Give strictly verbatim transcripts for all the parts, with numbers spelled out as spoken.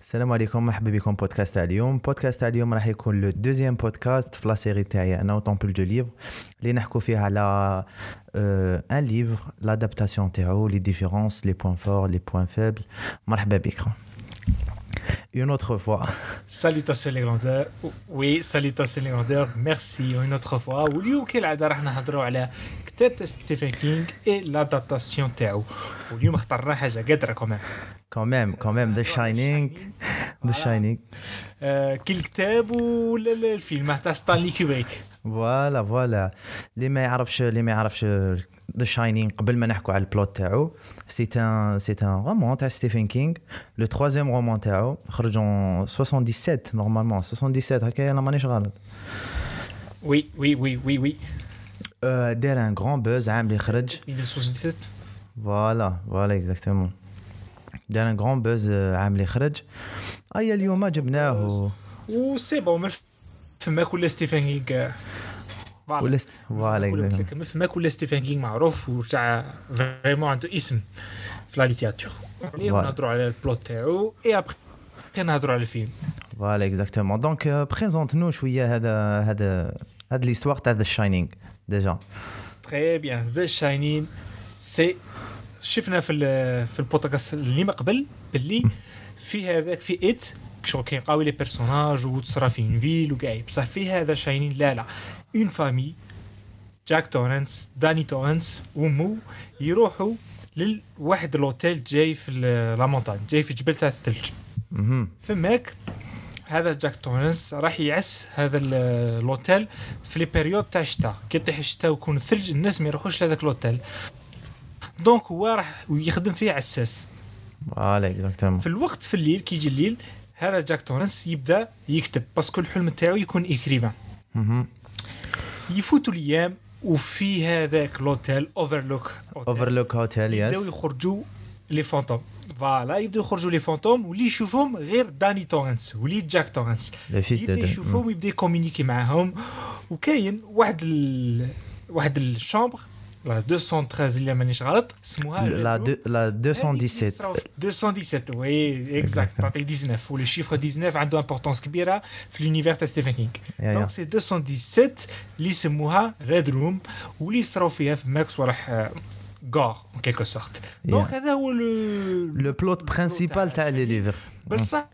السلام عليكم، مرحبا بكم بودكاست تاع اليوم. بودكاست تاع اليوم راح يكون لو دوزيام بودكاست في لا سيري تاعي انا وطومبل دو ليفر اللي نحكوا فيها على ان ليفر لادابتاسيون تاعو، لي ديفيرونس، لي بوين فور، لي بوين فيبل. مرحبا بكم une autre fois. Salutations les grandeurs. Oui, salutations les grandeurs. Merci une autre fois. واليوم كالعادة راح نهضروا على كتاب ستيفن كينغ et l'adaptation تاعو. واليوم اخترنا حاجة قادرة كمان. quand même quand même The Shining The Shining آه كل كتاب ولا الفيلم تاع ستانلي كوبريك. فوالا فوالا اللي ما يعرفش اللي ما يعرفش The Shining قبل ما نحكوا على البلوت تاعو. سي ان سي ان رومان تاع ستيفن كينغ، لو troisième رومان تاعو خرج en soixante-dix-sept نورمالمون soixante-dix-sept هكا انا مانيش غلط. وي وي وي وي وي دار ان غران بوز عام اللي خرج mille neuf cent soixante-dix-sept. فوالا فوالا اكزاكتومون دار ان غران بوز عام اللي خرج. اي اليوم جبناه و سي بون ما فما كل ستيفن كينغ ولا فوالا اكزاكتومون ما فما كل ستيفن كينغ معروف وتاع فريمون عنده اسم في لا ليتيراتور. اليوم نهضروا على البلوت تاعو اي ابري نهضروا على الفيلم. فوالا اكزاكتومون دونك بريزونت نو شويه هذا هذا هاد ليستوار تاع ذا شاينينغ ديجا. تري بيان ذا شاينين سي شفنا في في البودكاست اللي ما قبل باللي في هذاك في ايت شغل كاين قاوي لي بيرسوناج وتصرا في اون فيل وكاع بصح في هذا شاينين لا لا اون فامي جاك تورنس داني تورنس ومو يروحوا لواحد لوتيل جاي في لا مونتاج جاي في جبل تاع الثلج. فماك هذا جاك تورنس راح يعس هذا اللوتيل في لي بيريود تاع الشتاء كي يطيح الشتاء ويكون الثلج الناس ما يروحوش لهذاك اللوتيل دونك هو راح يخدم فيه عساس. فوالا اكزاكتومون في الوقت في الليل كي يجي الليل هذا جاك تورنس يبدا يكتب باسكو الحلم تاعو يكون ايكريفان. يفوتوا الايام وفي هذاك لوتيل اوفرلوك اوفرلوك هوتيل يس يبداو يخرجوا لي فانتوم. فوالا يبداو يخرجوا لي فانتوم واللي يشوفهم غير داني تورنس وليد جاك تورنس يبدا يشوفهم يبدا يكومونيكي معاهم. وكاين واحد ال... واحد الشامبر لا مئتين وثلاثة عشر اللي مانيش غلط اسمها لا دو لا مئتين وسبعة عشر مئتين وسبعة عشر وي اكزاكت تعطي تسعطاش ولو شيفر تسعطاش عنده امبورطونس كبيره في لونيفير تاع ستيفن كينغ. دونك سي مئتين وسبعة عشر اللي يسموها ريد روم واللي يصراو فيها في ماكس وراح غار ان كيلكو سورت. دونك هذا هو لو لو بلوت برينسيبال تاع لي ليفر بصح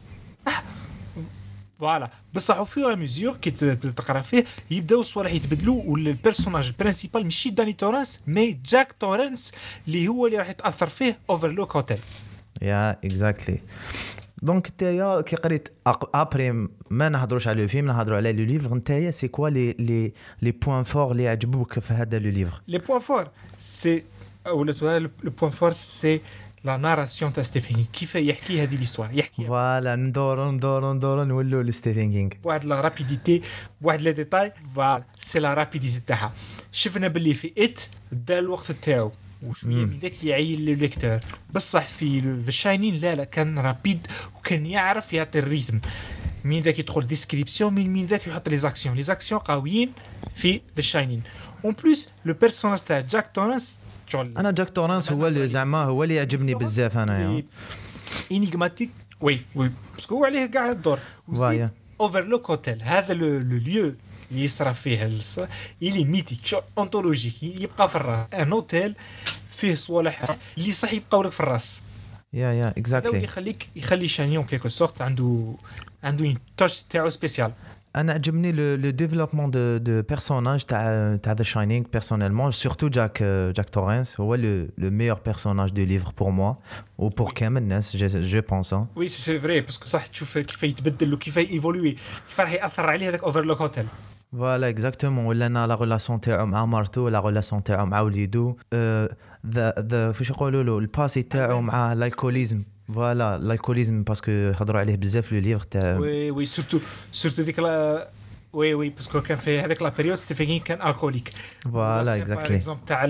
فوالا بصح او فيو ميزور كي تقرا فيه يبداو الصوالح يتبدلوا والبيرسوناج البرينسيبال ماشي داني تورنس مي جاك تورنس اللي هو اللي راح يتاثر فيه اوفرلوك هوتيل. يا اكزاكتلي دونك نتايا كي قريت ابري ما نهضروش على الفيلم نهضروا على لو ليفر. نتايا سي كوا لي لي لي بوين فور اللي عجبوك في هذا لو ليفر؟ لي بوين فور سي ولا لو بوين فور سي لا ناراسيون تاع ستيفن كينغ كيف يحكي هذه ليستوار يحكي فوالا ندورو ندورو ندورو نولوا لستيفن كينغ واحد لا رابيديتي واحد لي ديتاي. فوالا سي لا رابيديتي تاعها. شفنا باللي في ات دا الوقت تاعو وشويه من ذاك يعيل للليكتور بصح في ذا شاينين لا لا كان رابيد وكان يعرف يعطي الريتم من ذاك يدخل ديسكريبسيون من من ذاك يحط لي زاكسيون لي زاكسيون قويين في ذا شاينين. اون بليس لو بيرسوناج تاع جاك تورنس انا جاك تورنس هو اللي زعما هو اللي يعجبني بزاف انا انيغماتيك وي وي باسكو هو عليه كاع الدور. وزيد اوفرلوك هوتيل هذا لو ليو اللي يصرف فيه اللي ميتيك اونتولوجيك يبقى في الراس ان هوتيل فيه صوالح اللي صح يبقاو لك في الراس. يا يا اكزاكتلي يخليك يخلي شانيون كيكو سورت عنده عنده اون تاتش تاعو سبيسيال. انا عجبني لو لو ديفلوبمون دو دو بيرسوناج تاع تاع ذا شاينينغ بيرسونيلمون سورتو جاك جاك تورنس هو لو لو ميور بيرسوناج دو ليفر بور موا و بور كامل الناس جو بونس. وي سي فري باسكو صح تشوف كيف يتبدل وكيف ايفولوي كيف راح ياثر عليه هذاك اوفرلوك هوتيل. فوالا اكزاكتومون ولا انا لا ريلاسيون تاعو مع مارتو لا ريلاسيون تاعو مع وليدو ذا ذا فاش يقولوا له الباسي تاعو مع الالكوليزم. فوالا الالكوليزم باسكو هضروا عليه بزاف لو ليفر تاع وي وي سورتو سورتو ديك لا وي وي باسكو كان في هذاك لا بيريود ستيفن كينغ كان الكوليك. فوالا اكزاكتلي اكزومبل تاع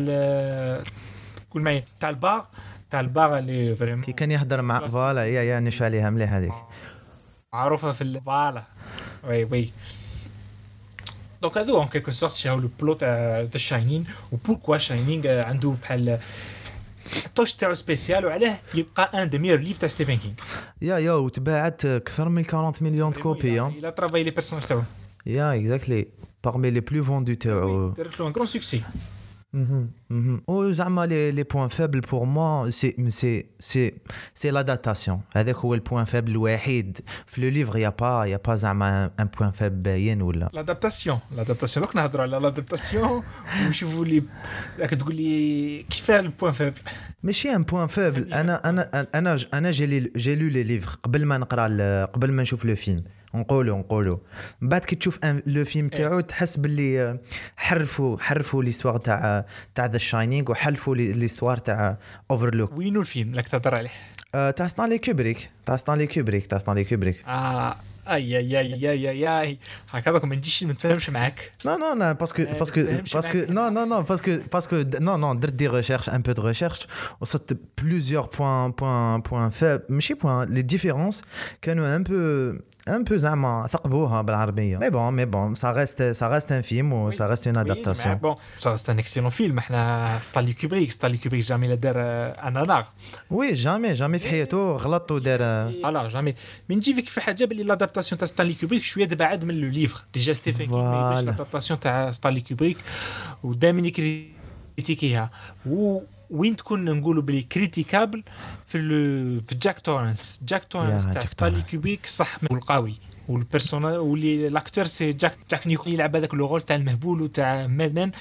كل معايا تاع البار تاع البار اللي فريمون كي كان يهضر مع فوالا يا يا نشفى عليها مليح هذيك معروفه في فوالا وي وي. دونك هذو ان كيكو سورت شاو لو بلوت تاع ذا شاينين وبوركوا شاينين عنده بحال التوش تاعو سبيسيال وعلاه يبقى ان دي ميور ليف تاع ستيفن كينغ. يا يا وتباعت اكثر من أربعين مليون كوبي. الى ترافاي لي بيرسوناج تاعو. يا اكزاكتلي parmi les plus vendus تاعو. درت له ان كرون سوكسي. وزعما لي لي بوين فابل بور موا سي سي سي سي لادابتاسيون. هذاك هو البوين فابل الوحيد في لو ليفر. يا با يا با زعما ان بوين فابل باين ولا لادابتاسيون. لادابتاسيون دوك نهضروا على لادابتاسيون ونشوفوا لي راك تقول لي كيف البوين فابل. ماشي ان بوين فابل. انا انا انا انا جي جي لو لي ليفر قبل ما نقرا قبل ما نشوف لو فيلم. نقولوا نقولوا من بعد كي تشوف لو فيلم تاعو تحس باللي حرفوا حرفوا ليستوار تاع تاع ذا شاينينغ وحلفوا ليستوار تاع اوفرلوك. وينو الفيلم راك تهضر عليه؟ تاع ستانلي كوبريك. تاع ستانلي كوبريك. تاع ستانلي كوبريك. اه اي اي اي اي اي هكذاك ما نجيش ما نتفاهمش معاك. Non non non parce que parce que parce que non non non parce que parce que non non درت دي recherches un peu de recherche وصلت plusieurs points points points faibles ماشي points les différences كانوا un peu un peu زعما ثقبوها بالعربيه. mais bon mais bon ça reste ça reste un film ou ça reste une adaptation. bon ça reste un excellent film. احنا ستانلي كوبريك ستانلي كوبريك جامي لا دار ان انار. oui jamais jamais في حياته غلط ودار لا جامي. من نجي فيك في حاجه باللي لادابتاسيون تاع ستانلي كوبريك شويه تبعد من لو ليفر. ديجا ستيفن كينغ ما يديرش لادابتاسيون تاع ستانلي كوبريك ودائما يكريتيكيها. و وين تكون نقولوا بلي كريتيكابل في في جاك تورنس. جاك تورنس تاع ستانلي كوبريك صح والقوي والبيرسونال واللي لاكتور سي جاك جاك نيكول يلعب هذاك لو رول تاع المهبول وتاع مادمان.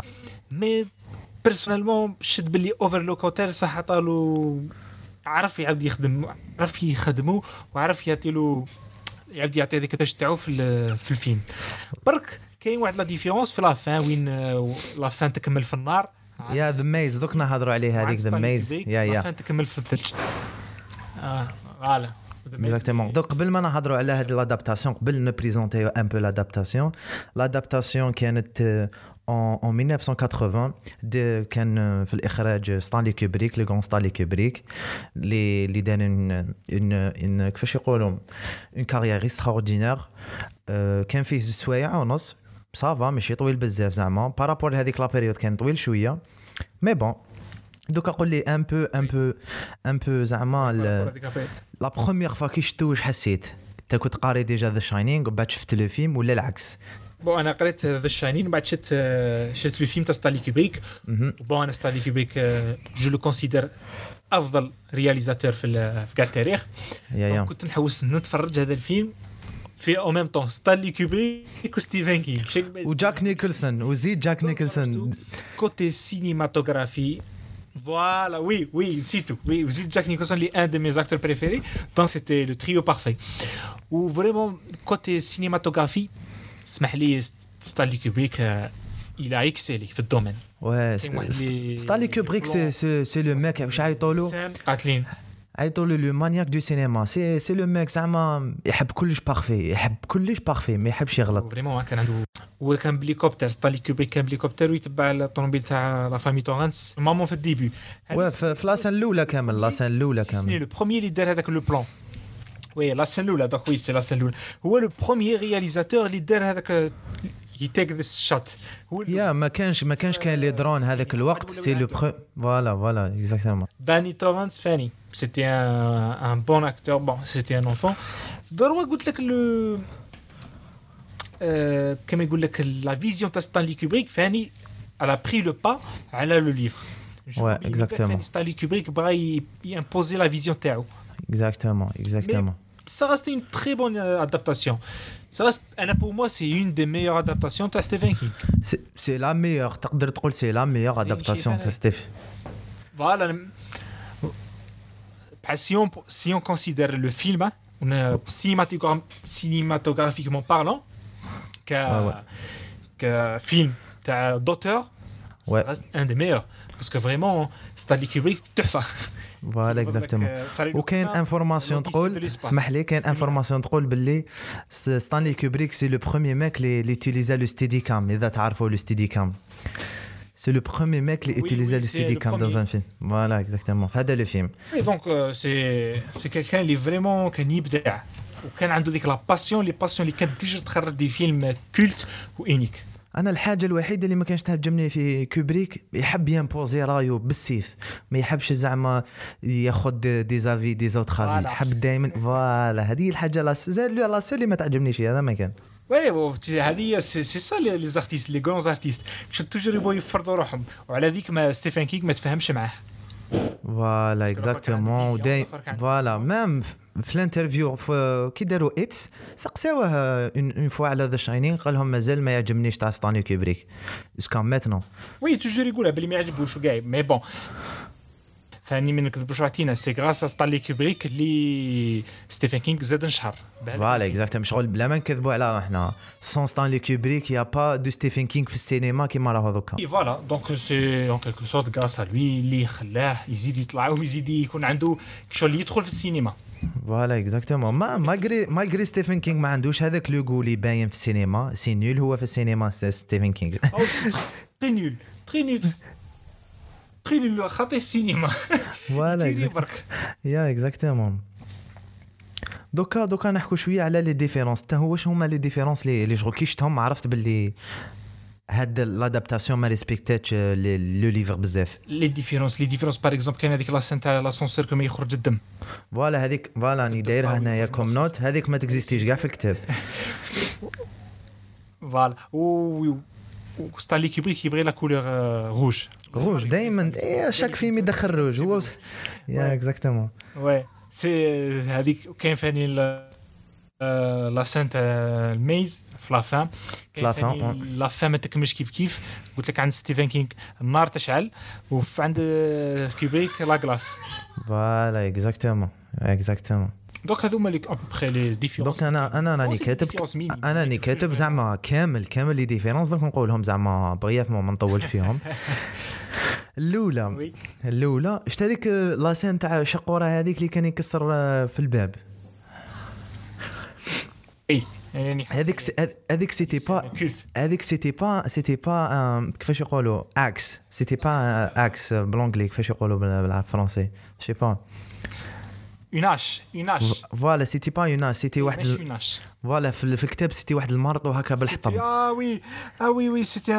مي بيرسونيلمون شد باللي اوفرلوك هوتيل صح عطالو عرف يعاود يخدم عرف يخدمه وعرف يعطيلو يعاود يعطي هذيك التاش تاعو في في الفيلم. برك كاين واحد لا ديفيرونس في لا فان وين لا فان تكمل في النار. يا ذا ميز دوك نهضروا عليه هذيك ذا ميز. يا يا فان تكمل في الثلج. اه فوالا exactement. دوك قبل ما نهضروا على هذه لادابتاسيون قبل نبريزونتيو ان بو لادابتاسيون. لادابتاسيون كانت en en mille neuf cent quatre-vingts de كان في الإخراج ستانلي كوبريك لو غون ستانلي كوبريك اللي اللي دار ان ان كيفاش يقولوا une carrière extraordinaire. كان فيه زوج سوايع ونص صافا ماشي طويل بزاف زعما بارابور هذيك لا بيريود كان طويل شويه. مي بون دوك اقول لي ان بو ان بو ان بو زعما لا بروميير فوا كي شفتو واش حسيت؟ انت كنت قاري ديجا ذا شاينينغ وبعد شفت لو فيلم ولا العكس؟ بون انا قريت ذا شاينين بعد شفت شفت لو فيلم تاع ستانلي كوبريك. بون انا ستانلي كوبريك جو لو كونسيدير افضل رياليزاتور في في كاع التاريخ. كنت نحوس نتفرج هذا الفيلم في او ميم طون ستانلي كوبريك وستيفن كينغ وجاك نيكلسون وزيد جاك نيكلسون كوتي سينيماتوغرافي. Voilà, oui, oui, c'est tout. Oui, vous êtes Jack Nicholson, l'un de mes acteurs préférés. Donc c'était le trio parfait. Ou vraiment côté cinématographie, اسمح لي ستانلي كوبريك il a excellé في الدومين. Ouais, ستانلي كوبريك c'est c'est c'est le mec واش عيطولو قاتلين عيطولو لو مانياك دو سينما. سي سي لو ميك زعما يحب كلش بارفي يحب كلش بارفي ما يحبش يغلط. فريمون كان عنده وكان بليكوبتر ستانلي كوبريك كان بليكوبتر ويتبع الطوموبيل تاع لا فامي تورنس مامون في الديبي. واه في لاسان الاولى كامل لاسان الاولى كامل لو بروميير اللي دار هذاك لو بلان. وي لاسان الاولى دونك وي سي لاسان الاولى هو لو بروميير رياليزاتور اللي دار هذاك يتيك ذس شوت. يا ما كانش ما كانش كان لي درون هذاك الوقت. سي لو فوالا فوالا اكزاكتومون. داني تورنس فاني سيتي ان ان بون اكتور. بون سيتي ان انفون. ضروري قلت لك لو كما يقول لك لا فيزيون تاع ستانلي كوبريك فاني على بري لو با على لو ليفر. وي اكزاكتومون. ستانلي كوبريك بغى يمبوزي لا فيزيون تاعو. اكزاكتومون اكزاكتومون. Ça reste une très bonne euh, adaptation. Ça reste, pour moi, c'est une des meilleures adaptations de Stephen King. C'est, c'est la meilleure. تقدر تقول c'est la meilleure adaptation de Stephen. Voilà. Si on, si on considère le film, on est cinématographiquement parlant, que, ah ouais. que film d'auteur, ça ouais. reste un des meilleurs. Parce que vraiment, Stanley Kubrick, تحفة. فوالا اكزاكتومون. وكاين انفورماسيون تقول اسمح لي كاين انفورماسيون تقول باللي ستانلي كوبريك سي لو بروميير ميك لي لي يوتيليزا لو ستيدي كام. اذا تعرفوا لو ستيدي كام سي لو بروميير ميك لي يوتيليزا لو ستيدي كام dans un film. فوالا اكزاكتومون في هذا لو فيلم. اي دونك سي سي كيلكان اللي فريمون كان يبدع وكان عنده ديك لا باسيون لي باسيون اللي كانت تيجي تخرج دي فيلم كولت وانيك. انا الحاجه الوحيده اللي ما كانش تعجبني في كوبريك يحب يمبوزي رايو بالسيف ما يحبش زعما ياخذ دي زافي دي زوت خافي يحب دائما فوالا هذه الحاجه لا لا سو اللي ما تعجبنيش فيها هذا ما كان وي هذه سي سا لي زارتيست لي غران زارتيست كنت توجور يبغوا يفرضوا روحهم وعلى ذيك ما ستيفن كينغ ما تفهمش معاه فوالا اكزاكتومون وداي فوالا ميم في الانترفيو كي داروا اتس سقساوه اون فوا على ذا شاينين قال لهم مازال ما يعجبنيش تاع ستانلي كوبريك اسكا ماتنو وي توجور يقولها بلي ما يعجبوش وكاع مي بون فاني ما نكذبوش عطينا سي غراس ستانلي كوبريك اللي ستيفن كينغ زاد نشهر فوالا اكزاكتومون شغل بلا ما نكذبوا على روحنا سون ستانلي كوبريك يا با دو ستيفن كينغ في السينما كيما راه هذوك اي فوالا دونك سي اون كيلكو سورت غراس ا لوي اللي خلاه يزيد يطلع ويزيد يكون عنده شغل اللي يدخل في السينما فوالا اكزاكتومون ما ماغري ماغري ستيفن كينغ ما عندوش هذاك لو غو اللي باين في السينما سي نول هو في السينما ستيفن كينغ تري نول تري نول تري نول خاطي السينما فوالا يا اكزاكتومون دوكا دوكا نحكوا شويه على لي ديفيرونس حتى هو واش هما لي ديفيرونس لي لي شغل كي شفتهم عرفت باللي هاد لادابتاسيون ما ريسبكتاتش لو ليفر بزاف لي ديفيرونس لي ديفيرونس باغ اكزومبل كاين هذيك لا سين تاع لاسونسير كما يخرج الدم فوالا هذيك فوالا ني دايرها هنايا كوم نوت هذيك ما تكزيستيش كاع في الكتاب فوالا و ستانلي كوبريك يبغي لا كولور روج روج دائما شاك فيلم يدخل روج هو يا اكزاكتومون وي سي هذيك كاين فاني لا سين تاع الميز في لافام كاين لافام ما تكملش كيف كيف قلت لك عند ستيفن كينغ النار تشعل وعند كوبريك لا غلاس فوالا اكزاكتومون اكزاكتومون دونك هذوما لي ابو بري لي ديفيرونس دونك انا انا راني كاتب انا راني كاتب زعما كامل كامل لي ديفيرونس دونك نقولهم زعما بريفمون ما نطولش فيهم الاولى الاولى شفت هذيك لاسين تاع شقوره هذيك اللي كان يكسر في الباب اي يعني هذيك هذيك سيتي با هذيك سيتي با سيتي با كيفاش يقولوا اكس سيتي با اكس بالانجلي كيفاش يقولوا بالفرنسي شي با يوناش يوناش فوالا سيتي با يوناش سيتي واحد فوالا في الكتاب سيتي واحد المرض وهكا بالحطب اه وي اه وي وي سيتي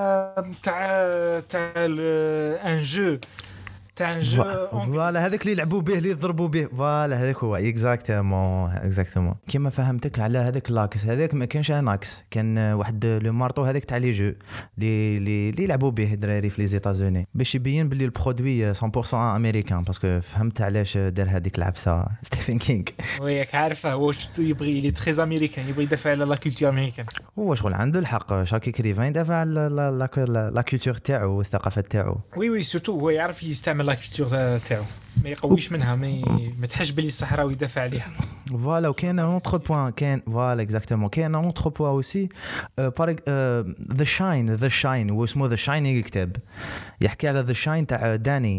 تاع تاع ان جو تاع جو فوالا هذاك اللي يلعبوا به اللي يضربوا به فوالا هذاك هو اكزاكتومون اكزاكتومون كيما فهمتك على هذاك لاكس هذاك ما كانش اناكس كان واحد لو مارطو هذاك تاع لي جو اللي اللي يلعبوا به الدراري في لي زيتازوني باش يبين باللي البرودوي مية بالمية امريكان باسكو فهمت علاش دار هذيك العبسه ستيفن كينغ وياك عارفه هو شتو يبغي لي تري امريكان يبغي يدافع على لا كولتور امريكان هو شغل عنده الحق شاكي كريفان يدافع على لا كولتور تاعو والثقافه تاعو وي وي سورتو هو يعرف يستعمل لا كولتور تاعو ما يقويش منها ما ما تحش بلي الصحراوي يدافع عليها فوالا وكاين ان اوتر بوين كاين فوالا اكزاكتومون كاين ان اوتر بوين اوسي بار ذا شاين ذا شاين هو اسمه ذا شاينينغ كتاب يحكي على ذا شاين تاع داني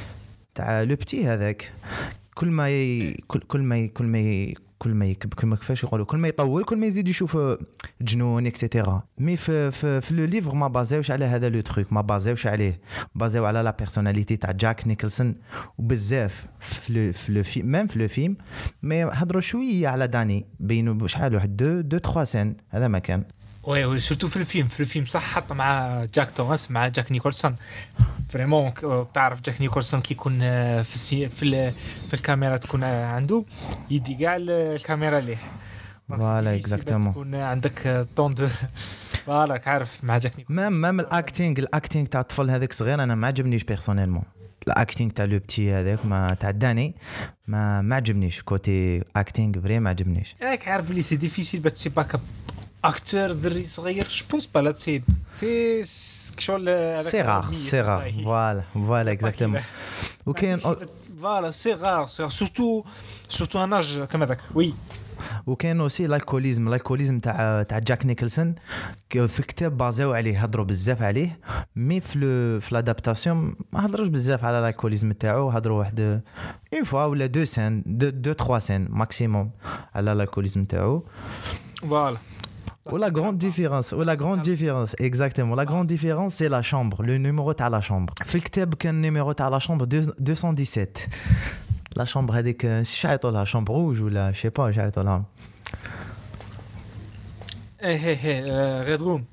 تاع لو بتي هذاك كل ما ي... كل كل ما ي... كل ما ي... كل ما يكب كما كيفاش يقولوا كل ما يطول كل ما يزيد يشوف جنون اكسيتيرا مي في في, في لو ليفر ما بازاوش على هذا لو تروك ما بازاوش عليه بازاو على لا بيرسوناليتي تاع جاك نيكلسون وبزاف في لو في لو فيلم ميم في لو فيلم مي هضروا شويه على داني بينوا شحال واحد دو دو ثلاثة سين هذا ما كان وي وي سورتو في الفيلم في الفيلم صح حط مع جاك توماس مع جاك نيكولسون فريمون تعرف جاك نيكولسون كي يكون في السي في, في الكاميرا تكون عنده يدي كاع الكاميرا ليه فوالا اكزاكتومون تكون عندك طون دو فوالا عارف مع جاك نيكولسون ميم ميم الاكتينغ الاكتينغ تاع الطفل هذاك صغير انا ما عجبنيش بيرسونيلمون الاكتينغ تاع لو بتي هذاك ما تاع داني ما ما عجبنيش كوتي اكتينغ فري ما عجبنيش ياك عارف لي سي ديفيسيل با تسي باك اكتور دري صغير جو بونس با لا تسيد سي شغل هذاك سي رار سي رار فوالا فوالا اكزاكتومون وكاين فوالا سي رار سورتو سورتو ان اج كما داك وي وكاين اوسي الالكوليزم الالكوليزم تاع تاع جاك نيكلسون في الكتاب بازاو عليه هضروا بزاف عليه مي في في لادابتاسيون ما هضروش بزاف على الالكوليزم تاعو هضروا واحد اون فوا ولا دو سين دو دو ثلاثة سين ماكسيموم على الالكوليزم تاعو فوالا ou la grande différence ou la grande différence exactement la grande différence c'est la chambre le numéro تاع la chambre في الكتاب كان numéro تاع la chambre deux cent dix-sept la chambre هذيك شعيطوا لها chambre rouge ولا je sais pas شعيطوا لها ايه ايه ريد روم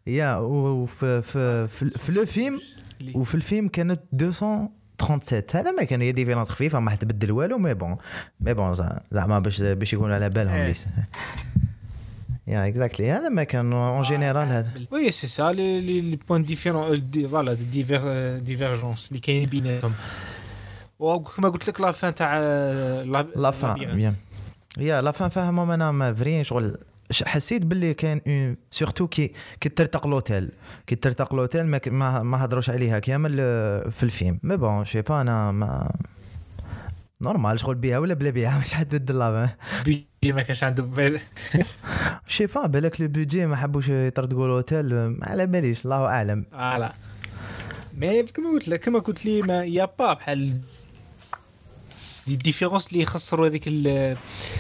يا وفي في في, في لو فيلم وفي الفيلم كانت مئتين وثلاثة وثلاثين. هذا ما كان هي ديفيرونس خفيفه ما حتبدل والو مي بون مي بون زعما باش باش يكونوا على بالهم ليس يا اكزاكتلي هذا ما كان اون جينيرال هذا وي سي سا لي لي بوين ديفيرون فوالا ديفير ديفيرجونس اللي كاين بيناتهم. وكما قلت لك لا فان تاع لا فان بيان يا لا فان فاهمه انا ما فري شغل حسيت باللي كان سورتو كي كي ترتق لوتيل كي ترتق لوتيل ما ما هضروش عليها كامل في الفيلم مي بون شي با انا ما نورمال شغل بيها ولا بلا بيها مش حتبدل لا بيجي ما كانش عنده شي با بالك لو بودجي ما حبوش يطردقوا لوتيل على باليش الله اعلم فوالا مي كما قلت لك كما قلت لي ما يا با بحال دي ديفيرونس اللي يخسروا هذيك ال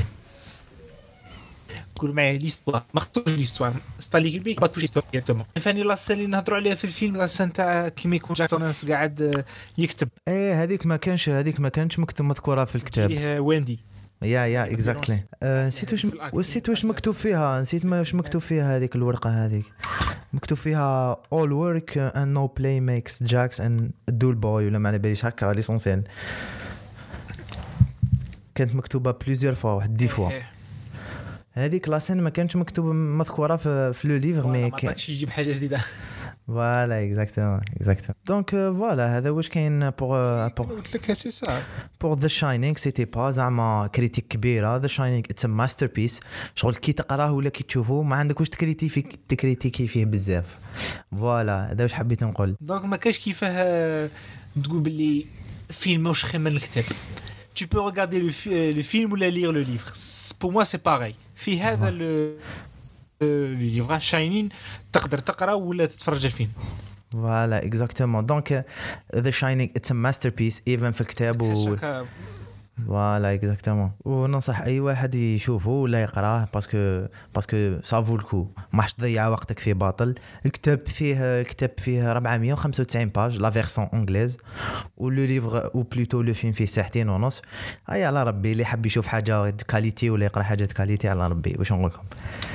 كل معايا ليستوار ما خطوش ليستوار ستالي بيك ما تكونش ليستوار ديريكتومون. فاني لا سين اللي نهضروا عليها في الفيلم لا سين تاع كيما يكون جاك تورنس قاعد يكتب ايه هذيك ما كانش هذيك ما كانتش مكتوب مذكوره في الكتاب فيه ويندي يا يا اكزاكتلي نسيت واش نسيت واش مكتوب فيها نسيت ما واش مكتوب فيها هذيك الورقه هذيك مكتوب فيها all work and no play makes Jacks and dull boy ولا ما على باليش هكا ليسونسيال كانت مكتوبه بليزيور فوا واحد دي فوا هذيك لاسين ما كانتش مكتوبه مذكوره في في لو ليفر مي كان شي يجيب حاجه جديده فوالا اكزاكتومون اكزاكتومون دونك فوالا هذا واش كاين بور بور قلت لك سي سا بور ذا شاينينغ سيتي با زعما كريتيك كبيره ذا شاينينغ اتس ا ماستر بيس شغل كي تقراه ولا كي تشوفه ما عندك واش تكريتيكي تكريتيكي فيه بزاف فوالا هذا واش حبيت نقول دونك ما كاينش كيفاه تقول باللي فيلم واش خير من الكتاب tu peux regarder le, le film ou la lire le livre. Pour moi, c'est pareil. في هذا le le livre Shining تقدر تقرأ ولا تتفرج الفيلم. Voilà, exactement. Donc, uh, The Shining, it's a masterpiece, even في الكتاب و... فوالا اكزاكتومون وننصح اي واحد يشوفه ولا يقراه باسكو باسكو سافو الكو ما حش تضيع وقتك في باطل. الكتاب فيه الكتاب فيه أربعمية وخمسة وتسعين باج لا فيرسون انجليز ولو ليفر او بلوتو لو فيلم فيه ساعتين ونص. اي على ربي اللي حب يشوف حاجه كاليتي ولا يقرا حاجه كاليتي على ربي واش نقول لكم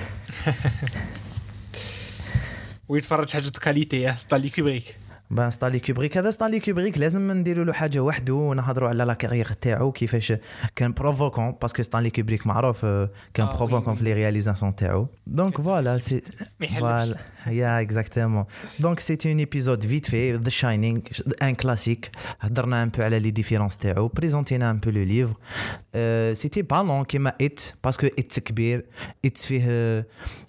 ويتفرج حاجه كاليتي ستانلي كوبريك بان ستانلي كوبريك هذا ستانلي كوبريك لازم نديروا له حاجه وحده ونهضروا على لا كارير تاعو كيفاش كان بروفوكون باسكو ستانلي كوبريك معروف كان بروفوكون في لي رياليزاسيون تاعو دونك فوالا سي فوالا يا اكزاكتومون دونك سيتي اون ايبيزود فيت في ذا شاينينغ ان كلاسيك هضرنا ان بو على لي ديفيرونس تاعو بريزونتينا ان بو لو ليفر سيتي با لون كيما ات باسكو ات كبير ات فيه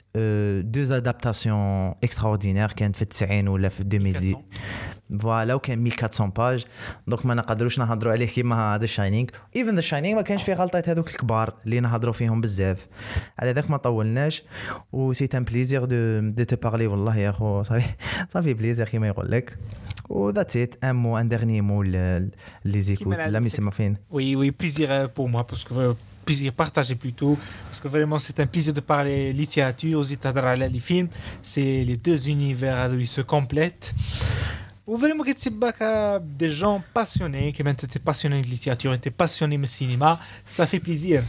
deux adaptations extraordinaires كانت في التسعين ولا في ألفين وعشرة فوالا وكان مية وأربعمية باج دونك ما نقدروش نهضروا عليه كيما هذا شاينينغ ايفن ذا شاينينغ ما كانش فيه غلطات هذوك الكبار اللي نهضروا فيهم بزاف على ذاك ما طولناش و سي ان بليزير دو دو تي بارلي والله يا اخو صافي صافي بليزير كيما يقول لك و ذاتس ات ان مو ان ديرني مو لي زيكوت لا مي سي ما فين وي وي بليزير بور موا باسكو plaisir partagé plutôt parce que vraiment c'est un plaisir de parler littérature aussi تهضر على les films c'est les deux univers où ils se complètent ou vraiment que tu bac des gens passionnés qui maintenant t'es passionné de littérature t'es passionné de cinéma ça fait plaisir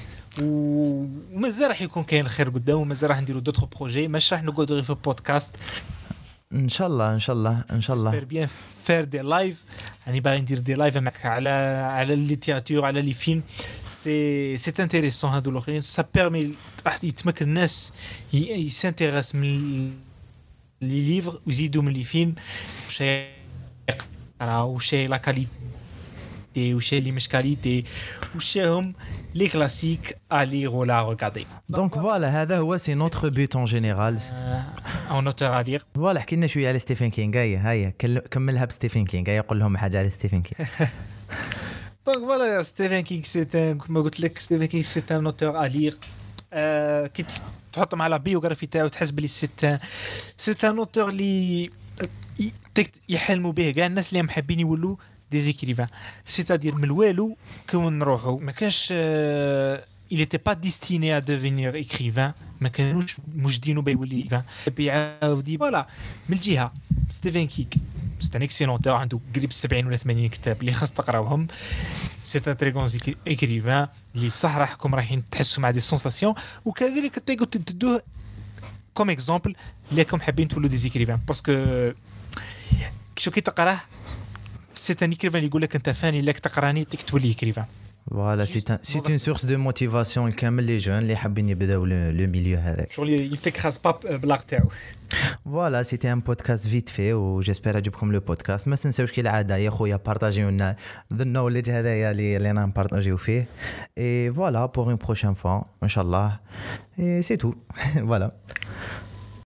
ومازال راح يكون كاين الخير قدام ومازال راح نديروا d'autres projets ماشي راح نقعدوا غير في البودكاست ان شاء الله ان شاء الله ان شاء الله j'espère bien faire des lives يعني باغي ندير دي لايف معك على على الليتيراتور على لي فيلم سي سي انتريسون هادو الاخرين سا بيرمي راح يتمكن الناس يسانتيريس من لي ليفر ويزيدوا من لي فيلم واش راه واش لا كاليتي واش لي مش كاليتي واش هم لي كلاسيك الي ولا ريغاردي دونك فوالا هذا هو سي نوتر بوت ان جينيرال اون اوتور الير فوالا حكينا شويه على ستيفن كينغ هيا هيا كملها بستيفن كينغ هيا قول لهم حاجه على ستيفن كينغ Donc voilà, Stephen King, c'est un, comme je l'ai dit, Stephen King, c'est un auteur à lire. Euh, qui تحط مع la biographie تاعو تحس بلي c'est un, c'est un auteur اللي يحلموا به كاع الناس اللي محبين يولوا des écrivains. C'est-à-dire من الوالو كون نروحوا ما كانش il était pas destiné à devenir écrivain ما كانوش مجدينه بيولي écrivain. بيعاودي voilà من الجهه ستيفن كينغ c'est un excellent auteur عنده قريب سبعين ولا ثمانين كتاب اللي خاص تقراوهم c'est un très grand écrivain اللي صح راحكم رايحين تحسوا مع دي سونساسيون وكذلك تقدروا تدوه كوم اكزامبل اللي راكم حابين تولوا دي زيكريفان باسكو شو كي تقراه سي ان ايكريفان اللي يقول لك انت فاني لك تقراني تك تولي اكريفان. Voilà, c'est un, c'est une source de motivation لكامل les jeunes اللي حابين يبداو le milieu هذاك. شغل يتكراز با بلاغ تاعو. Voilà, c'était un podcast vite fait و j'espère عجبكم le podcast. ما تنساوش كالعادة يا خويا بارطاجيو لنا the knowledge هذايا اللي اللي انا نبارطاجيو فيه. Et voilà pour une prochaine fois, inchallah. Et c'est tout. Voilà.